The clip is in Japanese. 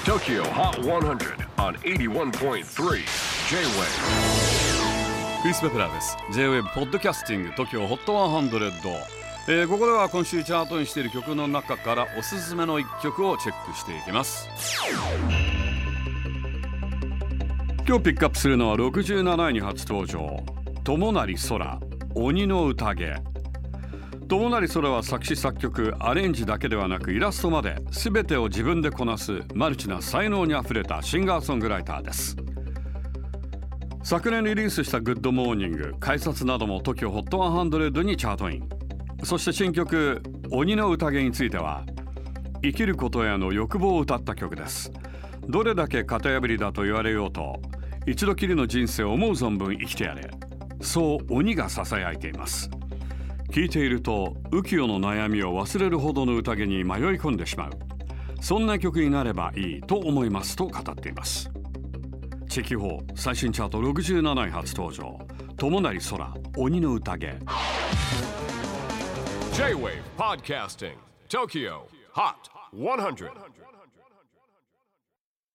TOKYO HOT 100 on 81.3 J-WAVE クリス・ベプラーです。 J-WAVE ポッドキャスティング TOKYO HOT 100、ここでは今週チャートにしている曲の中からおすすめの一曲をチェックしていきます。今日ピックアップするのは67位に初登場、友成空鬼の宴。友成空は作詞作曲アレンジだけではなくイラストまで全てを自分でこなすマルチな才能にあふれたシンガーソングライターです。昨年リリースしたグッドモーニング、改札なども TOKYO HOT 100にチャートイン。そして新曲鬼の宴については生きることへの欲望を歌った曲です。どれだけ型破りだと言われようと一度きりの人生を思う存分生きてやれ、そう鬼がささやいています。聴いていると浮世の悩みを忘れるほどの宴に迷い込んでしまう、そんな曲になればいいと思いますと語っています。チェキホー最新チャート67位初登場、友成空鬼の宴。 J-WAVE PODCASTING TOKYO HOT 100